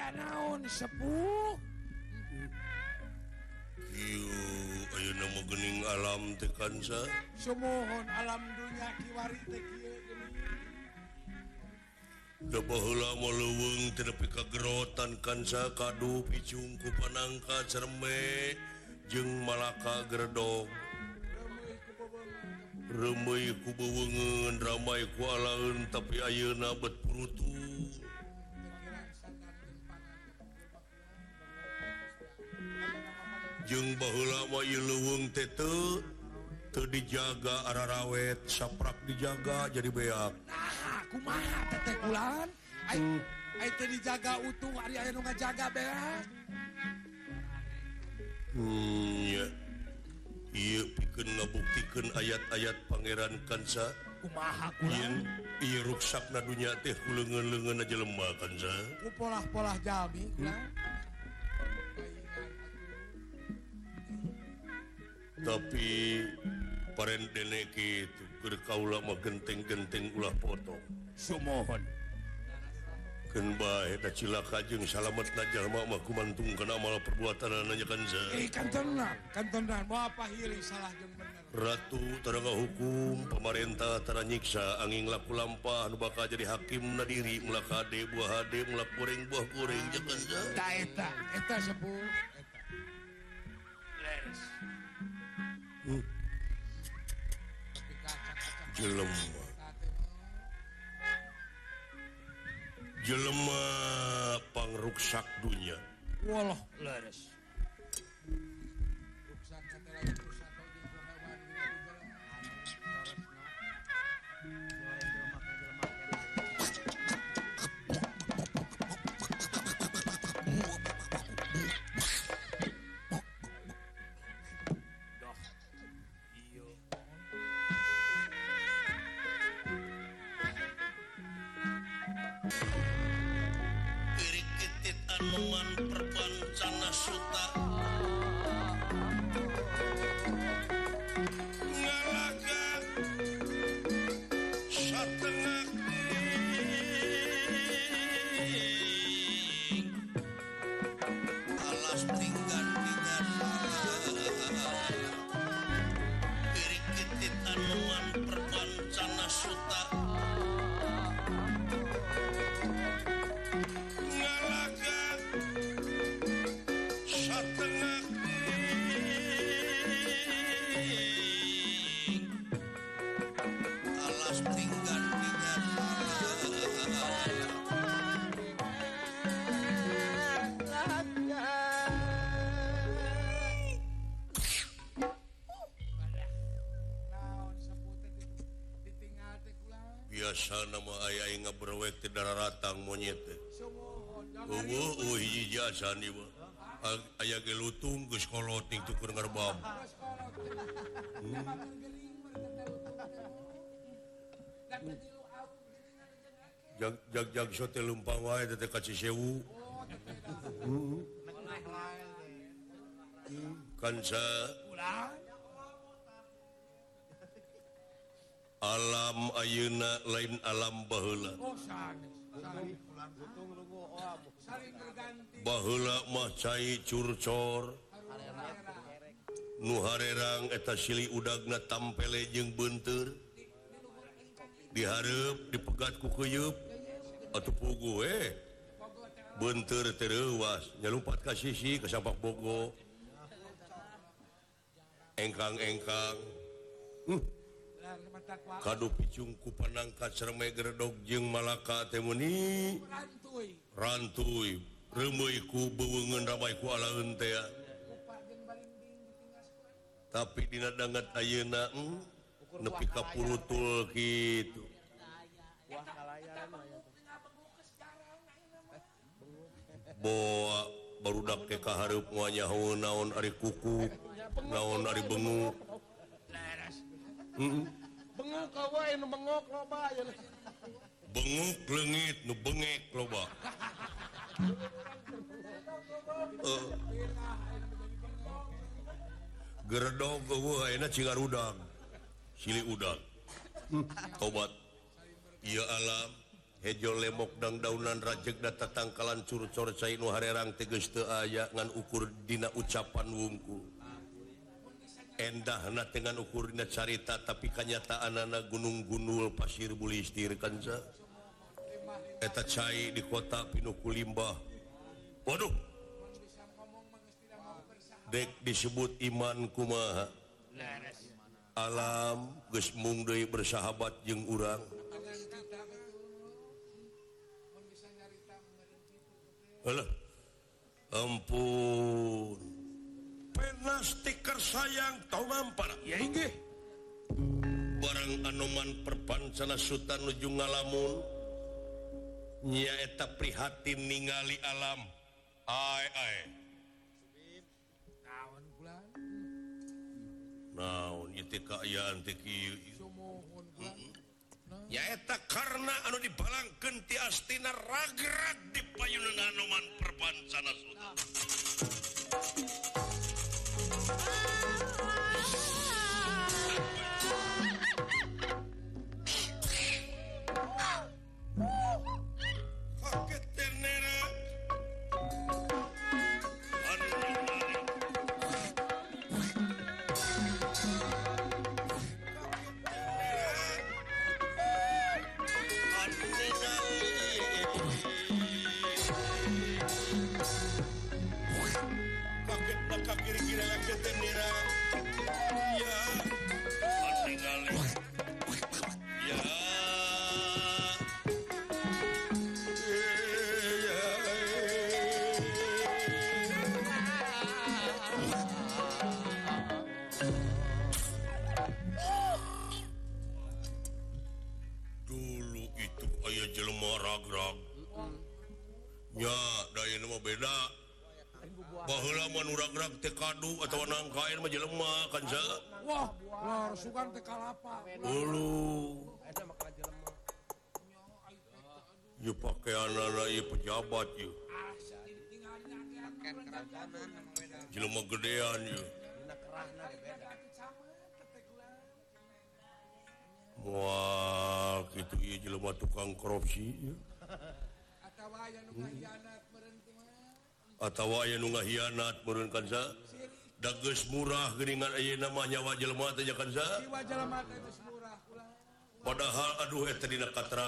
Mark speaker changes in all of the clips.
Speaker 1: naon sepuh
Speaker 2: ayo nama gening alam tekansa
Speaker 1: sumohon alam dunia kiwari teh kieu
Speaker 2: da baheula mah leuweung teu nepi ka gerotan kansa kadu picung ku panangka cerme jeung malaka gerdong remeuy ku beweungeun ramai ku alaeun tapi ayeuna bet purutu jeung baheula mah ieu leuweung teh teu dijaga ararawet saprak dijaga jadi beak
Speaker 1: nah kumaha teteh kulan ai teh dijaga utuh ari aya nu ngajaga beak
Speaker 2: nya ieu pikeun ngabuktikeun ayat-ayat pangeran kansa
Speaker 1: kumaha kulan
Speaker 2: ieu ruksakna dunya teh ku leungeun-leungeunna jelema kansa
Speaker 1: ku polah-polah jalmi kulan
Speaker 2: tapi parendene kitu keur kaula mah genteng-genteng ulah potong
Speaker 1: sumohon
Speaker 2: keun bae da cilaka jeung salametna jalma mah kumantung kana amal perbuatanna nya kansa
Speaker 1: kan tenang moal pahili salah jeung bener
Speaker 2: ratu tara ngahukum pamarentah tara nyiksa angin laku lampah anu bakal jadi hakim na diri mulak hade buah hade mulak goreng buah goreng jeung kansa
Speaker 1: eta sepuh leres
Speaker 2: jelema pangruksak dunya
Speaker 1: walah leres
Speaker 2: Anuman perpancana suta ngalaga satengah alas tinggal kiri-kitit anuman perpancana suta biasa nama ayah ngaberwek ti dararatang monyet hiji jasa nih ayah ge lutung geus kolot ning tukur ngerbam jag sote lumpang wae teh ka Cisewu kansa alam ayeuna lain alam baheula baheula mah cai curcor nu harerang eta silih udagna tampele jeung beunteur dihareup dipegat ku keuyeub atuh puguh beunteur teh reuwas nyalumpat ka sisi ka sapak bogo engkang-engkang kadu picung ku panangka cerme gerdog jeung malaka teh meuni rantuy remeuy ku beweungeun ramai ku alaeun teh tapi dina dangat ayeuna nepi ka purutul kitu boa barudak teh kahareup moal nyaho naon ari kukuk naon ari benguk
Speaker 1: benguk wae nu bengok loba
Speaker 2: benguk leungit nu bengek loba gerdog eueuh ayeuna cingar udang silih udang tobat ieu alam hejo lemok dang daunan rajeg data tangkalan curcor cai nu harerang teges teu aya ngan ukur dina ucapan wungkul endahna dengan ukur dina carita tapi kanyataanana gunung gunul pasir bulistir kanza eta cai di kota pinuku limbah waduh dek disebut iman kumaha alam geus mung deui bersahabat jeung urang alah ampun pena stiker sayang tau ngampar
Speaker 1: ya inggih
Speaker 2: barang anoman perpancana sutan nuju ngalamun nyaeta prihatin ningali alam ai
Speaker 1: naon bulan
Speaker 2: naon ieu kaayaan teh kieu
Speaker 1: sumohon bulan
Speaker 2: nyaeta karena anu dibalangkeun ti astina ragrag di payunan anoman perpancana sutan kaget ternera ragrag teh kadu atau nangkain mah jelema kan sa
Speaker 1: wah lor sugan teh kalapa
Speaker 2: ulu ieu pakaianana ieu pejabat ieu jelema gedean ieu wah kitu ieu jelema tukang korupsi ieu atawa aya nu ngahianat meureun kansa da geus murah geuningan ayeuna mah nyawa jelema teh nya kansa
Speaker 1: jiwa jelema teh geus murah
Speaker 2: padahal aduh eta dina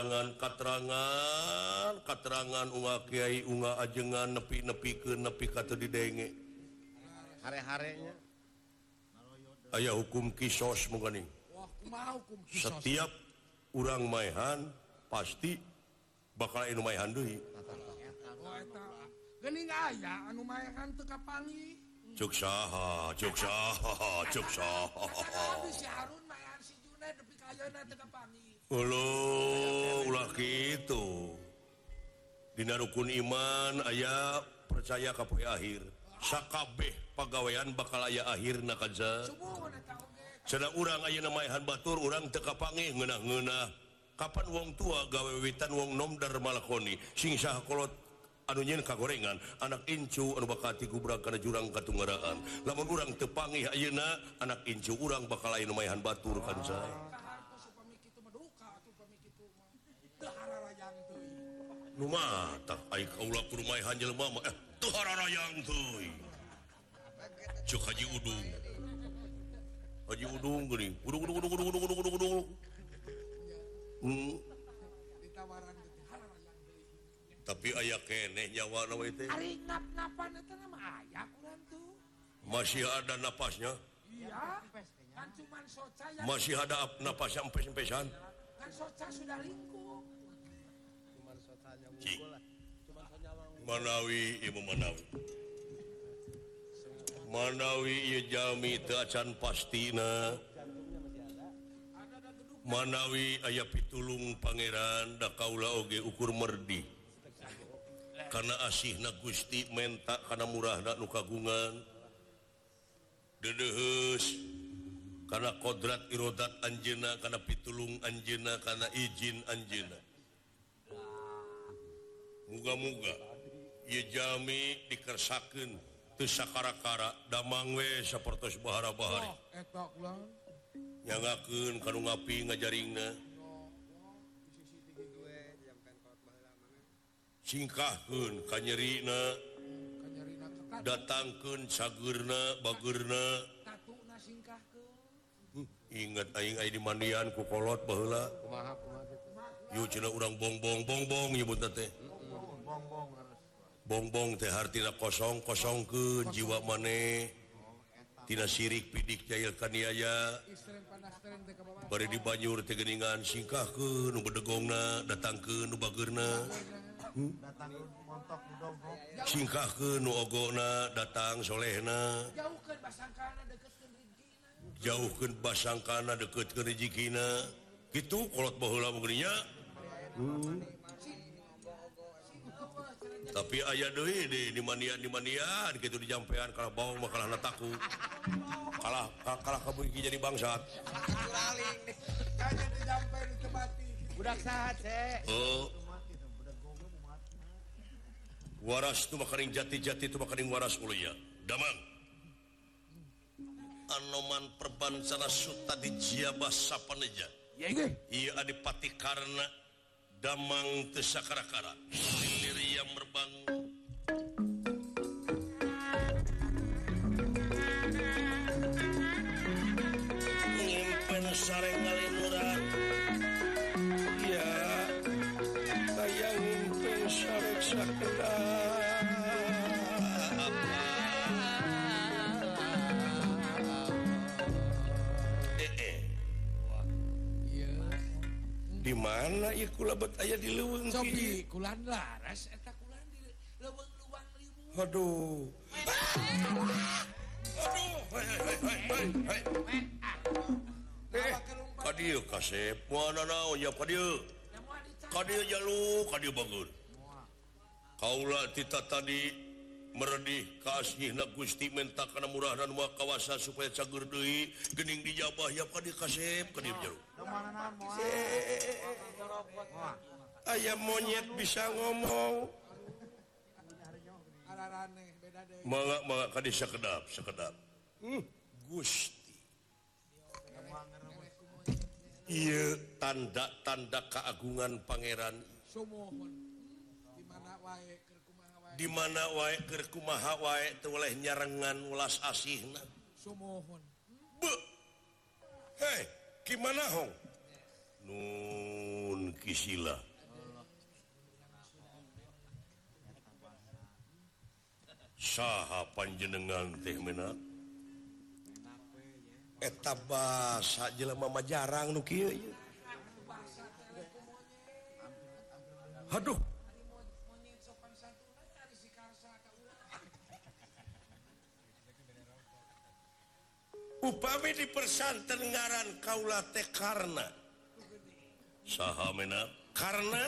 Speaker 2: katerangan unga kiai unga ajengan nepi-nepikeun nepi ka teu didenge
Speaker 3: hare-harenya
Speaker 2: aya hukum kisos mungkin
Speaker 1: wah kumaha hukum kisos
Speaker 2: setiap urang maehan pasti bakal anu maehan deui
Speaker 1: oh eta geuning aya anu maehan teu kapangi
Speaker 2: cuk saha
Speaker 1: tapi si Harun maehan si Junaid nepi ka ayeuna teu kapangi
Speaker 2: ulah kitu dina rukun iman aya percaya ka poe akhir sakabeh pagawean bakal aya akhirna kanza
Speaker 1: subuhun eta oge
Speaker 2: cenah urang ayeuna maehan batur urang teu kapangih ngeunah-ngeunah kapan wong tua gawe wiwitan wong nom dar malakoni sing saha kolot anu nyeun kagorengan anak incu anu bakal tigubrak kana jurang katunggaraan lamun urang teu pangih ayeuna anak incu urang bakal aya nu maehan batur kanza
Speaker 1: kahartos upami kitu mah duka atuh upami kitu mah teu hararayang teuing
Speaker 2: nu mah tah ai kaula kudu maehan jelema mah teu hararayang teuing cuk Haji Udung geuning udung
Speaker 1: ditawaran teh hararayang teuing
Speaker 2: tapi aya keneh nyawana we teh
Speaker 1: ari ngap-ngapan eta mah aya kurang tuh
Speaker 2: masih ada napasnya
Speaker 1: iya kan cuman soca yang
Speaker 2: masih ada napasnya empes-empesan
Speaker 1: kan soca sudah lingkup
Speaker 2: cik Manawi ieu Manawi ieu jalmi teu acan pastina Manawi aya pitulung pangeran da kaula oge ukur merdi karena asihna Gusti menta kana murahna nu kagungan dedeheus kana kodrat irodat anjeunna kana pitulung anjeunna kana izin anjeunna muga-muga ieu jalmi dikersakeun teu sakara-kara damang we sapertos bahara-bahari
Speaker 1: eta ulang
Speaker 2: nyangakeun kanu ngapi ngajaringna singkahkeun kanyerina
Speaker 1: Kanyarina ketat.
Speaker 2: datangkeun sagurna bagurna
Speaker 1: Tatuna singkahkeun.
Speaker 2: inget aing aya di mandian ku kolot baheula
Speaker 3: Kumaha kitu.
Speaker 2: yu cenah urang bongbong nyebutna teh bongbong teh hartina kosongkeun jiwa maneh tina sirik pidik jahil kaniaya
Speaker 1: Istreng panas tereng teh ka bawah.
Speaker 2: bari di banjur teh geuningan singkahkeun nu bedegongna datangkeun nu bageurna singkahkeun nu ogona datang solehna
Speaker 1: Jauhkeun basangkana deketkeun rizkina.
Speaker 2: jauhkeun basangkana deketkeun rezekina kitu kolot baheula mungkin nya tapi aya deui di manian kitu dijampean kalah bawang mah kalah nataku kalah kabeuki jadi bangsat
Speaker 1: Kanya dijampe di tebati.
Speaker 3: Budak sahat, Se.
Speaker 2: waras tu makaring jati tu makaring waras ulunya damang anoman perbancana suta di jiabah sapaneja iya adipati karna damang teu sakara-kara lilir yang merbangun ngimpen sareng ngalinuran ya kayak ngimpen sareng sakeda
Speaker 1: Iya.
Speaker 2: di mana ieu kula bet aya di leuweung
Speaker 1: Sok
Speaker 2: kieu?
Speaker 1: di kulan laras eta kulan di leuweung luang limu.
Speaker 2: Aduh. Kadieu kasep, moana naon ya kadieu? Kadieu jalu, kadieu bagur. Kaula tita tadi meredih kaasihna Gusti menta kana murah dan moal kawasa supaya cager deui geuning dijabah ya kadieu kasep, kadieu jalu. Aya monyet bisa ngomong.
Speaker 1: Ararane beda deh.
Speaker 2: Mangga kadieu sakedap. Gusti. Ieu tanda-tanda keagungan pangeran.
Speaker 1: Sumohon. Di mana wae keur kumaha wae.
Speaker 2: Di mana wae keur kumaha wae teu oleh nyarengan ulas asihna.
Speaker 1: Sumohon.
Speaker 2: Beuh. Hei, gimana hong? Nun kisila. Saha panjenengan teh meunang? Eta basa jelema mah jarang nu kieu. Aduh,
Speaker 1: Monyet sopan santuna ari si karsa ka urang.
Speaker 2: upami di persanten ngaran kaula teh karna. Saha meunang? Karna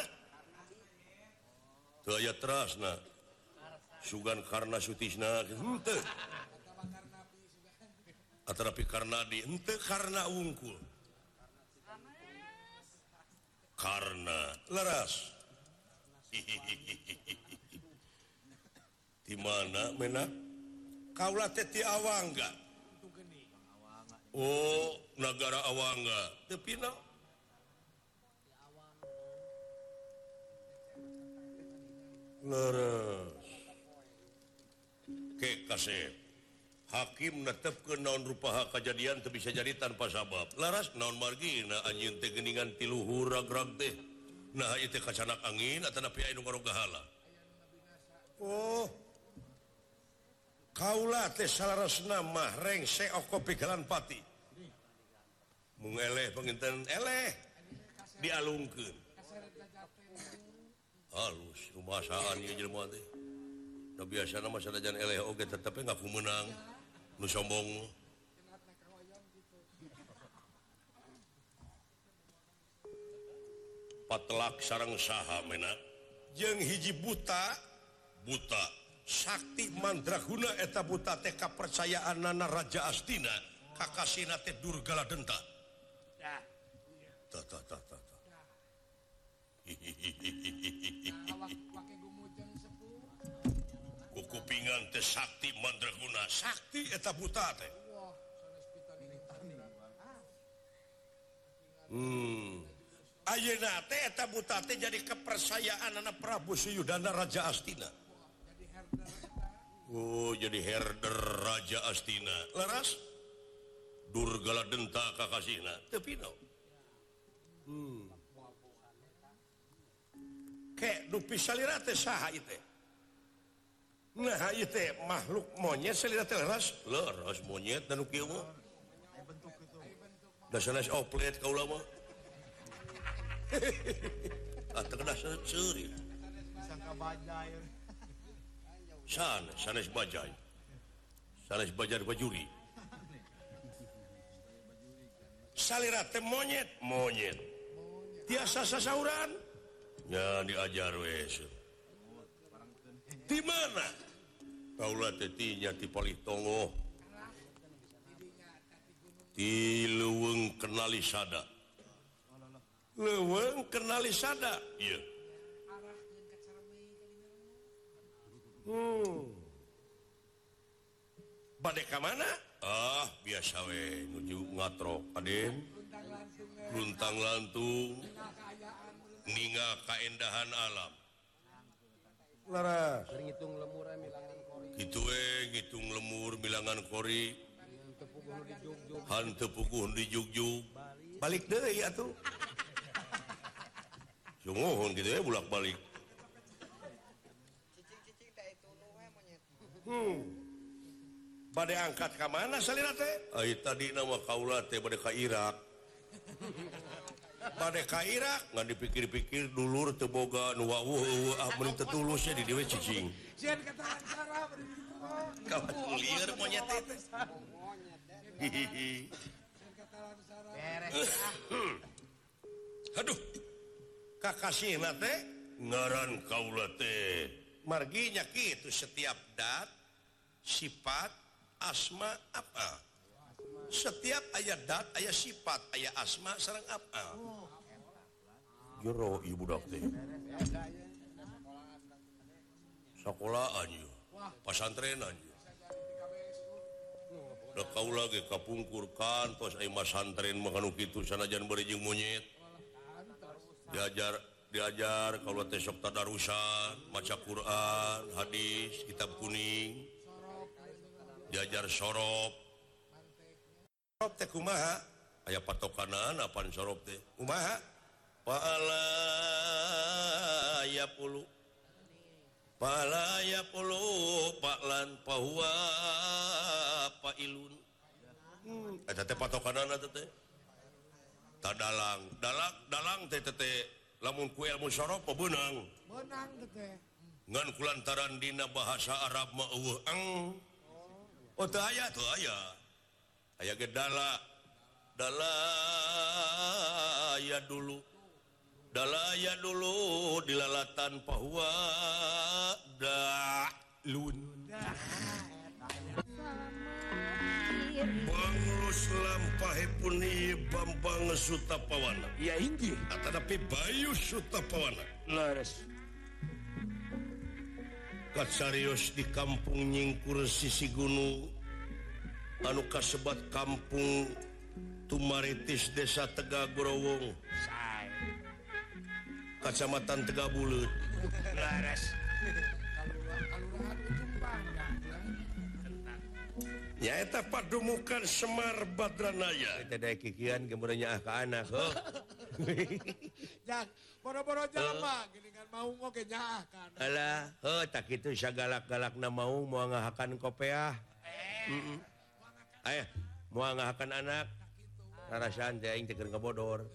Speaker 2: teu aya terasna. Sugan karna sutisna henteu. Atarapi karna di henteu karna wungkul. Karna leras. Di mana menak? Kaula teh ti Awangga. Oh, negara Awangga. Teu pina. Leres. Ke kasep. Hakim netepkeun naon rupaha kajadian teu bisa jadi tanpa sabab. Laras naon margina anjeun teh geuningan ti luhur ragrag teh. Nah ieu teh kacanak angin atanapi aya nu ngarogahala. Oh. Kaula teh salarosna mah rengse oko pigalan pati. Mung eleh panginten eleh dialungkeun. Halus rumasaan ieu jelema teh. Da biasana mah sanajan eleh oge tetep ngaku meunang. Nu sombong. Patelak sareng saha menak jeung hiji buta sakti mandraguna eta buta teh kapercayaanna Raja Astina kakasina teh Durgala Denta. Tah.
Speaker 1: Awak pake gumujeng sepuh.
Speaker 2: Kukupingan teh sakti mandraguna sakti eta buta teh.
Speaker 1: Wah, sanes pitan ini.
Speaker 2: ayeuna teh eta buta teh jadi kepercayaan anak Prabu Suyudana Raja Astina. Oh, jadi herder Raja Astina. Laras Durgala denta kakasihna teu pino. Ke dupi salira teh saha ieu teh? Nah, ieu teh makhluk monyet salira teh laras monyet dan kieu mah. Da sanes oplet kaula mah. Atau kena seuri.
Speaker 3: Sangka bajai.
Speaker 2: Sanes bajai. Sanes bajar bajuri. Salira teh monyet. Tiasa sasauran. Ya diajar wes. Di mana? Kaula teh tinya ti Palitongo. Ti Leuweung Kenalisada. Leuweung Kenalisada. Iya. Bade ka mana? Biasa we nuju ngatrok Aden. Luntang lantung. Ninga kaendahan alam. Laras.
Speaker 3: Ngitung lemur milangan kori.
Speaker 2: Gitu we ngitung lemur milangan kori. Hanteu puguh di jugjug. Balik deui atuh. Sungguhun gitu ya bulak-balik.
Speaker 3: Cicing teh itu nu we monyet.
Speaker 2: Bade angkat ka mana salira teh? Ai tadi nama kaula teh bade ka Irak. Bade ka Irak ngan dipikir-pikir dulur teu boga nu waweuh mun teu tulus di dieu cicing.
Speaker 1: Sieun kata cara bari ditu mah.
Speaker 2: Kawan lieur monyet teh.
Speaker 1: Sieun kata cara.
Speaker 3: Beres.
Speaker 2: Aduh. Kakasihna teh ngaran kaula teh marginya kitu setiap dat sifat asma apa setiap aya dat aya sifat aya asma sareng apa jero ieu budak teh sakolahan ieu pasantrenan ieu da kaula ge kapungkur kantos aya masantren mah anu kitu sanajan bari jeung monyet diajar kalau teh sok tadarusan maca Quran hadis kitab kuning diajar sorop teh kumaha aya patokanan apaan sorop teh kumaha paala ya pulu paklan pahuwa pailun eta teh patokanan eta teh dalang teh lamun ku ilmu sorop beunang
Speaker 1: Menang teh.
Speaker 2: ngan kulantaran dina bahasa Arab mah eueuh oh teu aya aya ge dala ya dulu dilalatan pahua dalun Banglus lampahe puni Bambang Sutapawana.
Speaker 1: Iya inggih.
Speaker 2: Tetapi Bayu Sutapawana.
Speaker 1: Laras.
Speaker 2: Kacarios di kampung Nyingkur sisi gunung anu kasebat kampung Tumaritis Desa Tegagorowong Kacamatan Tegabuleut.
Speaker 1: Laras.
Speaker 2: Nyaeta padumukan Semar Badranaya.
Speaker 4: Eta daek kikian geumeureun nyaah ka anak.
Speaker 1: Jak, boro-boro jalma geuningan maung oge nyaah kan.
Speaker 4: Alah, tak kitu sagalak-galakna mau moal ngahakan kopeah. Aya, moal ngahakan anak. Rarasaan teh aing teh keur ngabodor.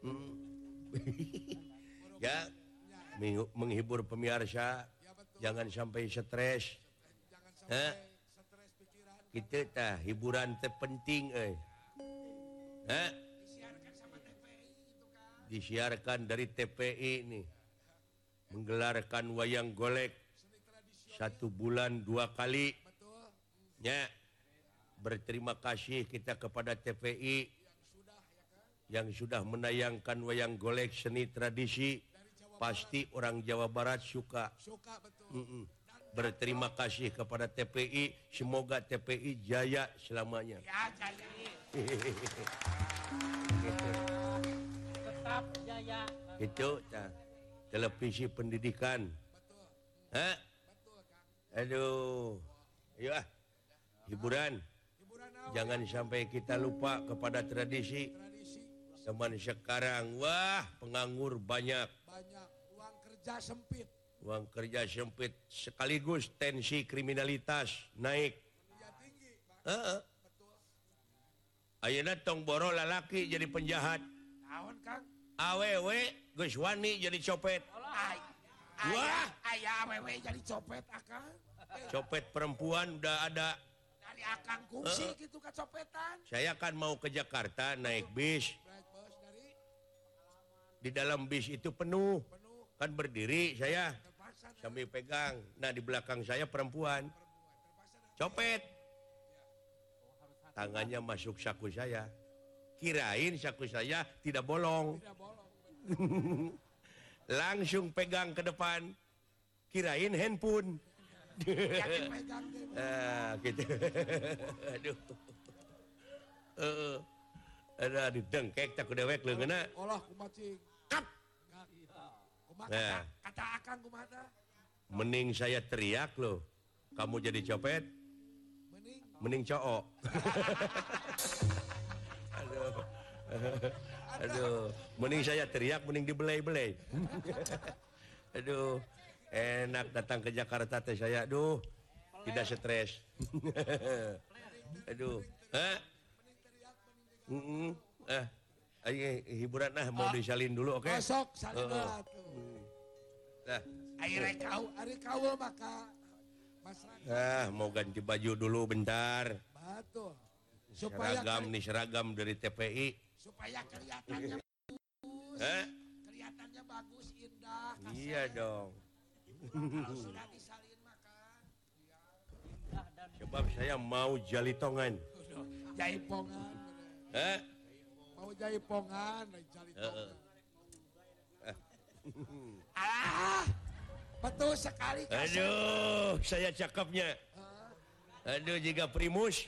Speaker 4: Ya, menghibur pemirsa, jangan sampai stres. Kita tah hiburan teh penting disiarkan dari TPI ini menggelarkan wayang golek 1 bulan 2 kali ya. Berterima kasih kita kepada TPI yang sudah menayangkan wayang golek seni tradisi. Pasti orang Jawa Barat suka betul. Berterima kasih kepada TPI. Semoga TPI jaya selamanya.
Speaker 1: Ya, jaya.
Speaker 4: itu televisi pendidikan. Hah? Aduh, ayo hiburan. Jangan sampai kita lupa kepada tradisi. Zaman sekarang, wah penganggur banyak.
Speaker 1: Uang kerja sempit.
Speaker 4: Uang kerja sempit sekaligus tensi kriminalitas naik. Ayeuna tong boro lalaki jadi penjahat.
Speaker 1: Naon Kang?
Speaker 4: Awewe geus wani jadi copet. Wah,
Speaker 1: aya awewe jadi copet Akang.
Speaker 4: Copet perempuan udah ada.
Speaker 1: Dari Akang kungsi gitu kecopetan.
Speaker 4: Saya kan mau ke Jakarta naik bis.
Speaker 1: Naik bus dari
Speaker 4: Di dalam bis itu penuh. Kan berdiri saya
Speaker 1: terpaksa
Speaker 4: sambil pegang. Nah, di belakang saya perempuan. Copet. Tangannya masuk saku saya. Kirain saku saya tidak bolong.
Speaker 1: tidak bolong.
Speaker 4: Langsung pegang ke depan. Kirain handphone.
Speaker 1: Yakin pegang deh.
Speaker 4: Gitu. Aduh. Ada didengkek tak dewek leungeuna.
Speaker 1: Olah kumacing.
Speaker 4: Kap.
Speaker 1: Kumaha
Speaker 4: Nah.
Speaker 1: kata Akang kumaha tah?
Speaker 4: Mending saya teriak loh. Kamu jadi copet,
Speaker 1: Mending
Speaker 4: mending cowok. Aduh. Aduh. Mending saya teriak, mending dibelai-belai. Aduh. Enak datang ke Jakarta teh saya. Aduh. Tidak stres. Aduh. Hah? Ayo hiburan mau disalin dulu, oke?
Speaker 1: besok salin atuh.
Speaker 4: Nah,
Speaker 1: Ari kaul maka masyarakat
Speaker 4: mau ganti baju dulu bentar.
Speaker 1: betul. Supaya
Speaker 4: Seragam dari TPI.
Speaker 1: supaya kelihatannya kelihatannya bagus, indah, kasih.
Speaker 4: Iya dong.
Speaker 1: Kalau sudah disalin maka
Speaker 4: Sebab saya mau jalitongan.
Speaker 1: jaipongan.
Speaker 4: Hah?
Speaker 1: Mau jaipongan, jalitongan. Betul sekali. Kasih.
Speaker 4: Aduh, saya cakepnya. Aduh, jika primus.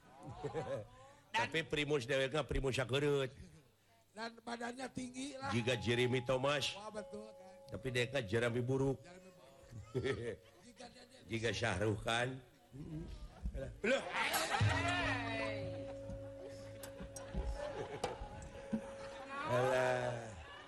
Speaker 4: Tapi primus deweknya primus sakereut.
Speaker 1: Dan badannya tinggi lah.
Speaker 4: Jika Jeremy Thomas.
Speaker 1: Wah betul kan.
Speaker 4: Tapi dia kan Jeremy buruk.
Speaker 1: Jika dia
Speaker 4: Jika Syahrukh Khan. Loh. Alah.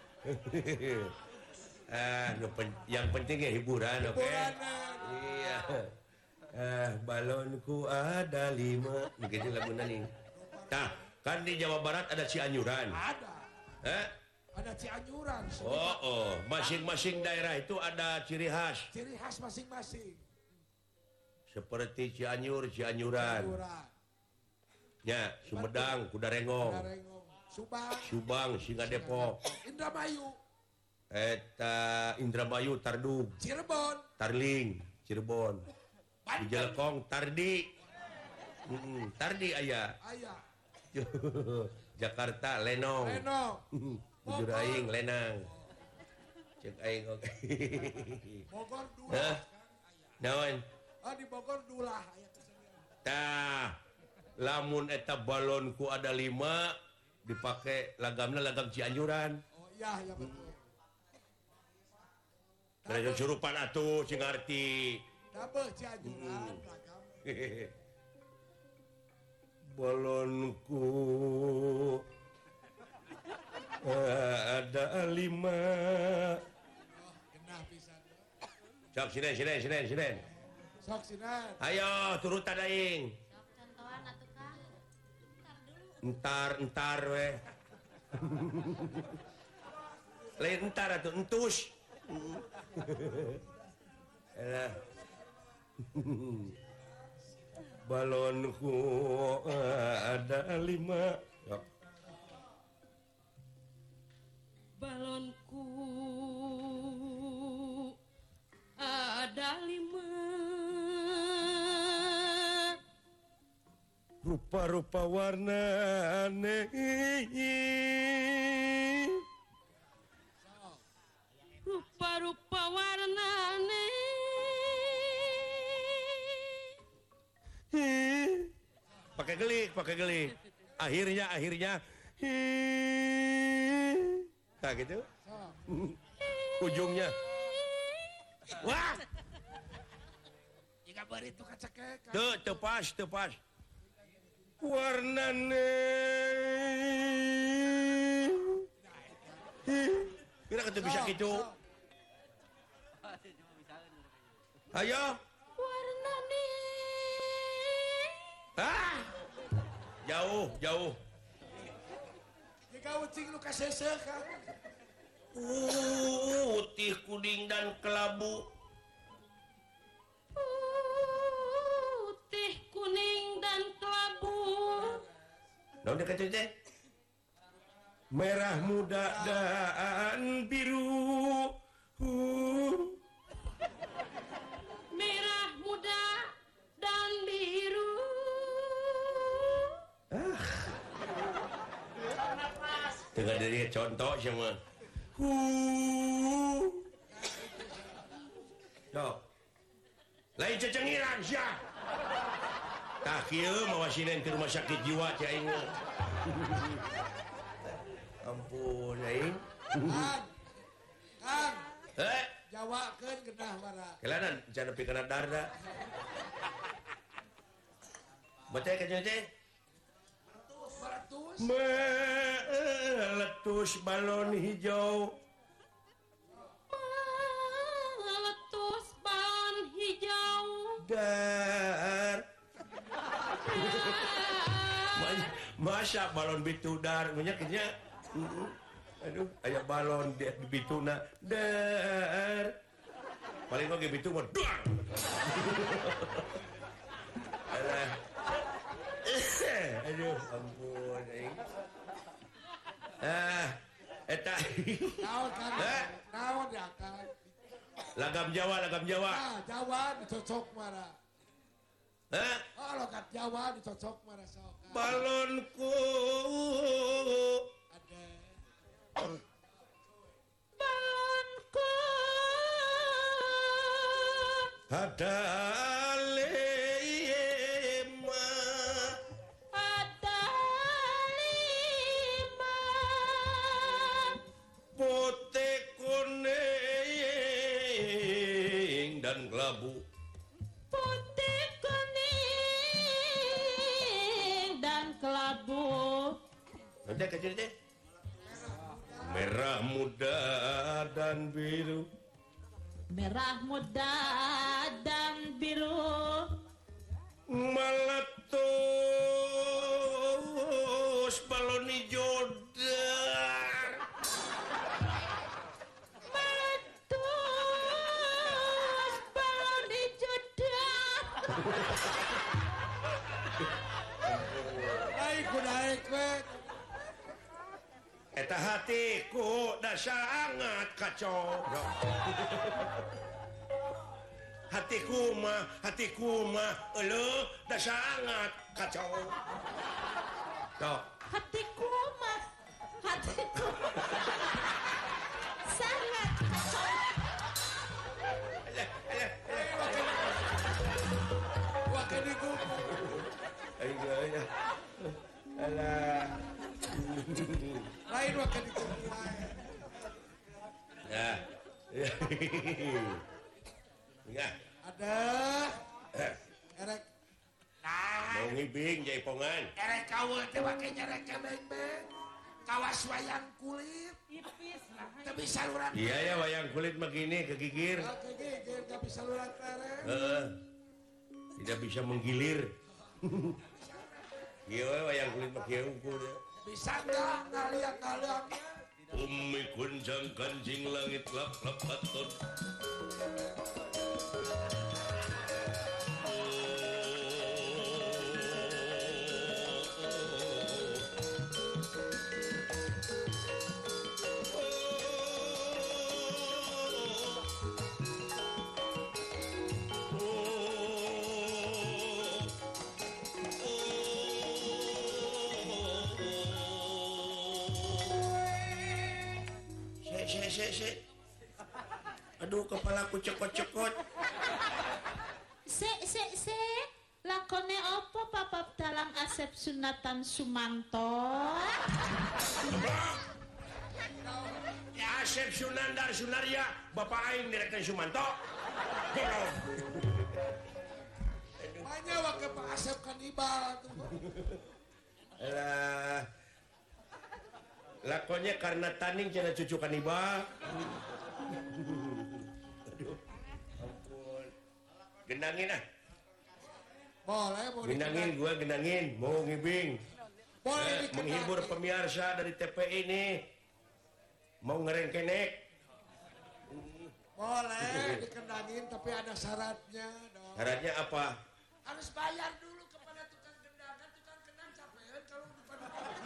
Speaker 4: Yang penting ya hiburan, oke?
Speaker 1: hiburan.
Speaker 4: Iya. Balonku ada 5. Begitu lagunya nih. Nah, kan di Jawa Barat ada Cianjuran.
Speaker 1: Ada.
Speaker 4: Hah?
Speaker 1: Ada Cianjuran.
Speaker 4: Masing-masing daerah itu ada ciri khas.
Speaker 1: Ciri khas masing-masing.
Speaker 4: Seperti Cianjuran.
Speaker 1: Cianjuran.
Speaker 4: Ya, Sumedang, Kudarengong.
Speaker 1: Darengong. Subang.
Speaker 4: Subang, Singa Depok.
Speaker 1: Indramayu.
Speaker 4: Eta Indramayu, Tardug.
Speaker 1: Cirebon.
Speaker 4: Tarling, Cirebon. Di
Speaker 1: Banten.
Speaker 4: Jelekong, Tardi. Tardi aya.
Speaker 1: Ayah.
Speaker 4: Jakarta, Lenong.
Speaker 1: Lenong.
Speaker 4: Bujur aing, Lenang. Cek aing oke.
Speaker 1: Bogor
Speaker 4: Hah?
Speaker 1: Dulah.
Speaker 4: Naon?
Speaker 1: Di Bogor Dulah. Aya kesenian.
Speaker 4: Tah. Lamun eta balonku ada 5 dipakai lagamna lagam Cianjuran.
Speaker 1: Oh iya, ya betul.
Speaker 4: Kada surupan atuh sing ngarti.
Speaker 1: Dabeh Cianjuran. Ragam.
Speaker 4: Balonku ada 5.
Speaker 1: Genah pisan.
Speaker 4: Sok sinen.
Speaker 1: Sok sinan.
Speaker 4: Ayo turutan aing.
Speaker 5: Contohan atuh Kang. Entar dulu.
Speaker 4: Entar we. Lain entar atuh entus. Elah. Balonku ada 5. Sok.
Speaker 5: Balonku ada 5.
Speaker 4: Rupa-rupa warna aneh.
Speaker 5: Rupa-rupa warnane.
Speaker 4: Pakai gelik. Akhirnya. tak gitu
Speaker 1: So.
Speaker 4: ujungnya wah
Speaker 1: Jika beri itu kacekek.
Speaker 4: tepas warnane kira kata bisa gitu ayo
Speaker 5: warnane
Speaker 4: jauh
Speaker 1: Jika ucing lu kasese kan.
Speaker 4: putih kuning dan kelabu
Speaker 5: putih kuning dan kelabu
Speaker 4: naon dekat teh merah muda dan biru
Speaker 5: merah muda dan biru
Speaker 4: dengan dari contoh sama Sok. Lain cecengiran sia. Tah kieu mawasinen ke rumah sakit jiwa cai aing. Ampun aing.
Speaker 1: Kang,
Speaker 4: Jawa
Speaker 1: jawakeun genah wara.
Speaker 4: kelanan can nepi kana darda. Baca ka teh.
Speaker 1: Maratus.
Speaker 4: Meletus balon hijau.
Speaker 5: meletus balon hijau
Speaker 4: Dar. Masa balon bitudar menyakitnya. Aduh, aya balon di bituna. Dar. Paling oge bitu mah dar. Alah. Aduh, ampun aing. Eta.
Speaker 1: Naon kan? Naon ya kan?
Speaker 4: Lagam Jawa.
Speaker 1: Jawa dicocok wara.
Speaker 4: Hah?
Speaker 1: Oh, logat Jawa dicocok wara sok.
Speaker 4: Balonku.
Speaker 1: Ada.
Speaker 5: balonku
Speaker 4: Ada lema
Speaker 5: ada 5
Speaker 4: putih kuning dan kelabu.
Speaker 5: putih kuning dan kelabu
Speaker 4: Nanti kecil deh. Merah muda dan biru.
Speaker 5: merah muda dan biru
Speaker 4: Meletus balon hijau dar.
Speaker 5: meletus balon hijau dar
Speaker 1: Naik we.
Speaker 4: Eta hatiku dah sangat kacau. Hatiku mah elu dah sangat kacau. Tok.
Speaker 5: hatiku sangat kacau
Speaker 1: Wah kene gugu.
Speaker 4: Ayo. Alah.
Speaker 1: Lain wah kene gugu.
Speaker 4: Ya. Ya.
Speaker 1: Ada. Erek.
Speaker 4: Mau ngibing jaipongan.
Speaker 1: Erek kawe teh make nyerek ke beng-beng. Kawas wayang kulit. Teu bisa saluran.
Speaker 4: Iya ya wayang kulit begini kegigir.
Speaker 1: Oke, gigir teu bisa saluran tereng.
Speaker 4: Tidak bisa menggilir. Iya we, wayang kulit mah kieu ukur.
Speaker 1: Bisa enggak ngaliak-ngaliaknya?
Speaker 2: Umi kunjang kanjing langit lap-lap aton.
Speaker 4: Se. Aduh, kepalaku cekot-cekot.
Speaker 5: se lakone opo papap dalang Asep Sunatan Sumanto
Speaker 4: Asep Sunandar Sunaria Bapak aing direktur Sumanto.
Speaker 1: Banyak wakil Pak Asep kanibal tuh.
Speaker 4: Alah. Lakonnya karena taning cenah cucu kanibal. Aduh. Ampun. Genangin ah.
Speaker 1: Boleh, mau
Speaker 4: Genangin gua genangin, mau ngibing.
Speaker 1: Boleh
Speaker 4: Menghibur pemirsa dari TPI ini. Mau ngerengkenek.
Speaker 1: Boleh dikendangin tapi ada syaratnya dong.
Speaker 4: Syaratnya apa?
Speaker 1: Harus bayar dulu kepada tukang kendangan, tukang kendang capek kalau depan.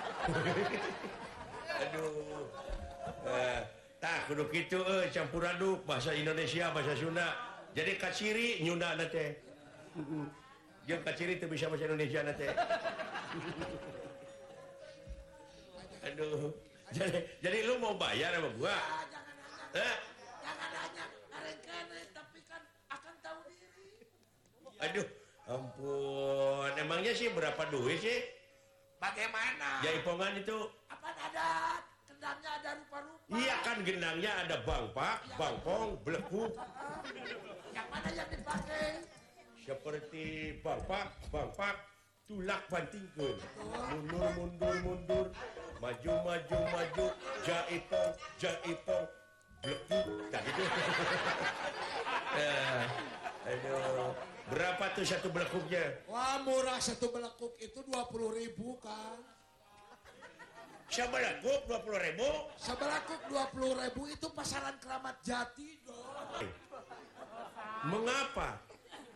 Speaker 4: Aduh. Tah kudu kitu campur aduk bahasa Indonesia bahasa Sunda. Jadi kaciri nyunda na teh. Jeung kaciri teu bisa bahasa Indonesia na teh. Aduh. Jadi lu mau bayar sama gua?
Speaker 1: Jangan hanya ngarengkene tapi kan akan tahu diri.
Speaker 4: Aduh, ampun. Emangnya sih berapa duit sih?
Speaker 1: Bagaimana?
Speaker 4: Jaipongan itu?
Speaker 1: Apa ada kendangnya ada rupa-rupa?
Speaker 4: Iya kan gendangnya ada bangpak, bangpong, belekuk.
Speaker 1: Yang mana yang dipakai?
Speaker 4: Seperti bangpak, tulak bantingkeun. Mundur, maju, jaipong, belekuk. Tah gitu. Aduh, berapa tuh satu belekuknya?
Speaker 1: Wah murah satu belekuk itu 20.000 kan.
Speaker 4: Sebelekuk 20.000.
Speaker 1: Sebelekuk 20.000 itu pasaran Keramat Jati dong.
Speaker 4: Mengapa?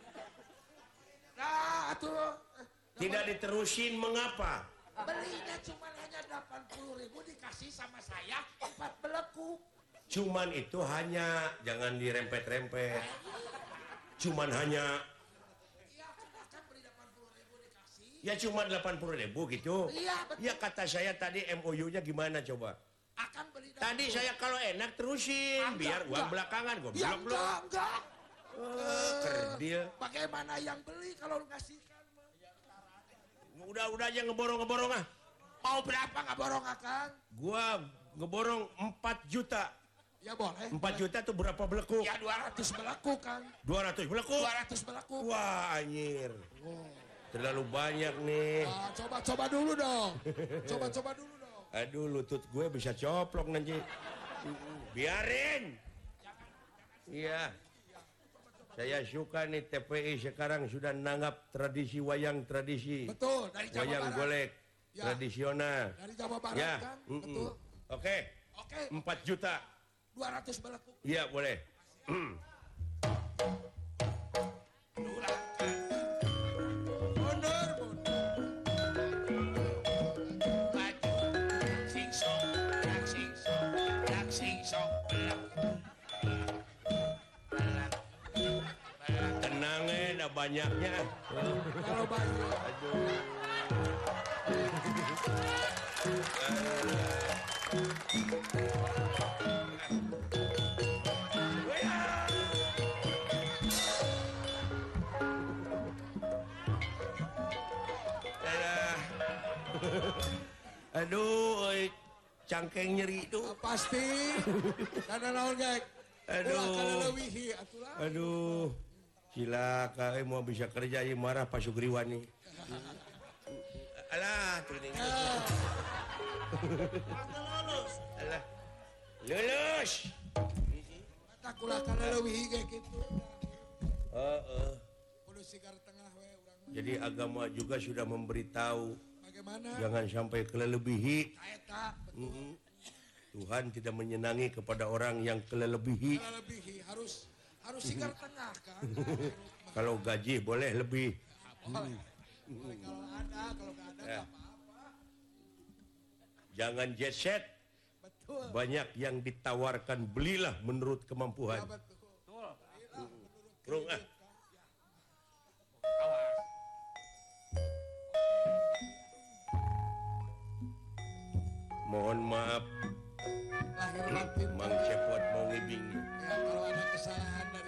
Speaker 1: Nah tuh
Speaker 4: Tidak diterusin mengapa?
Speaker 1: belinya cuma hanya 80.000 dikasih sama saya 4 belekuk.
Speaker 4: Cuman itu hanya, jangan dirempet-rempet. Cuman hanya,
Speaker 1: Iya kan beli 80.000 dikasih.
Speaker 4: ya cuma 80.000 gitu.
Speaker 1: Iya betul.
Speaker 4: Ya kata saya tadi MOU-nya gimana coba?
Speaker 1: Akan beli.
Speaker 4: Tadi saya kalau enak terusin, biar uang belakangan gue
Speaker 1: Ya
Speaker 4: belum.
Speaker 1: enggak.
Speaker 4: Kerdil.
Speaker 1: Bagaimana yang beli kalau lu kasihkan?
Speaker 4: Udah aja ngeborong ah.
Speaker 1: Mau berapa nggak borong Akang?
Speaker 4: Gua ngeborong 4 juta.
Speaker 1: Ya boleh.
Speaker 4: 4 juta tuh berapa belekuk?
Speaker 1: Ya 200 belekuk Kang.
Speaker 4: 200 belekuk?
Speaker 1: 200 belekuk.
Speaker 4: Wah anjir. Terlalu banyak nih.
Speaker 1: Nah, coba dulu dong. Coba dulu dong.
Speaker 4: Aduh lutut gue bisa coplok nanti. Biarin. Iya. Saya suka nih TPI sekarang sudah nanggap tradisi wayang tradisi.
Speaker 1: Betul, dari Jawa
Speaker 4: wayang
Speaker 1: Barat.
Speaker 4: golek
Speaker 1: Ya.
Speaker 4: tradisional.
Speaker 1: Dari Jawa Barat
Speaker 4: Ya.
Speaker 1: kan? Betul.
Speaker 4: Oke.
Speaker 1: Oke,
Speaker 4: 4 juta.
Speaker 1: 200 belekuk.
Speaker 4: Iya boleh.
Speaker 1: Mundur. Maju. Singsong, dak singsong, belak.
Speaker 4: Tenang ada banyaknya.
Speaker 1: Kalau banyak.
Speaker 4: Aduh, cangkeng nyeri itu.
Speaker 1: Pasti. Karena naon gek.
Speaker 4: Aduh.
Speaker 1: Ulah kana leuwihi atulah.
Speaker 4: Aduh, cilaka mau bisa kerja ya marah Pak Sugriwani. Alah, tuh nih. Alah, lulus.
Speaker 1: Tak ulah kana leuwihi gek kitu. Kudu sigar tengah we urang.
Speaker 4: Jadi agama juga sudah memberitahu
Speaker 1: Bagaimana?
Speaker 4: jangan sampai kelelebihi.
Speaker 1: Eta
Speaker 4: Tuhan tidak menyenangi kepada orang yang kelelebihi.
Speaker 1: kana leuwihi harus sigar tengah kan.
Speaker 4: Kalau gaji boleh lebih.
Speaker 1: Boleh. Boleh kalau ada, kalau nggak ada nggak apa-apa.
Speaker 4: Jangan jet set.
Speaker 1: Betul.
Speaker 4: Banyak yang ditawarkan, belilah menurut kemampuan.
Speaker 1: Ya, betul.
Speaker 4: Rung ah. Mohon maaf,
Speaker 1: Lahir batin.
Speaker 4: Mang Cepot mau ngibing.
Speaker 1: Ya, kalau ada kesalahan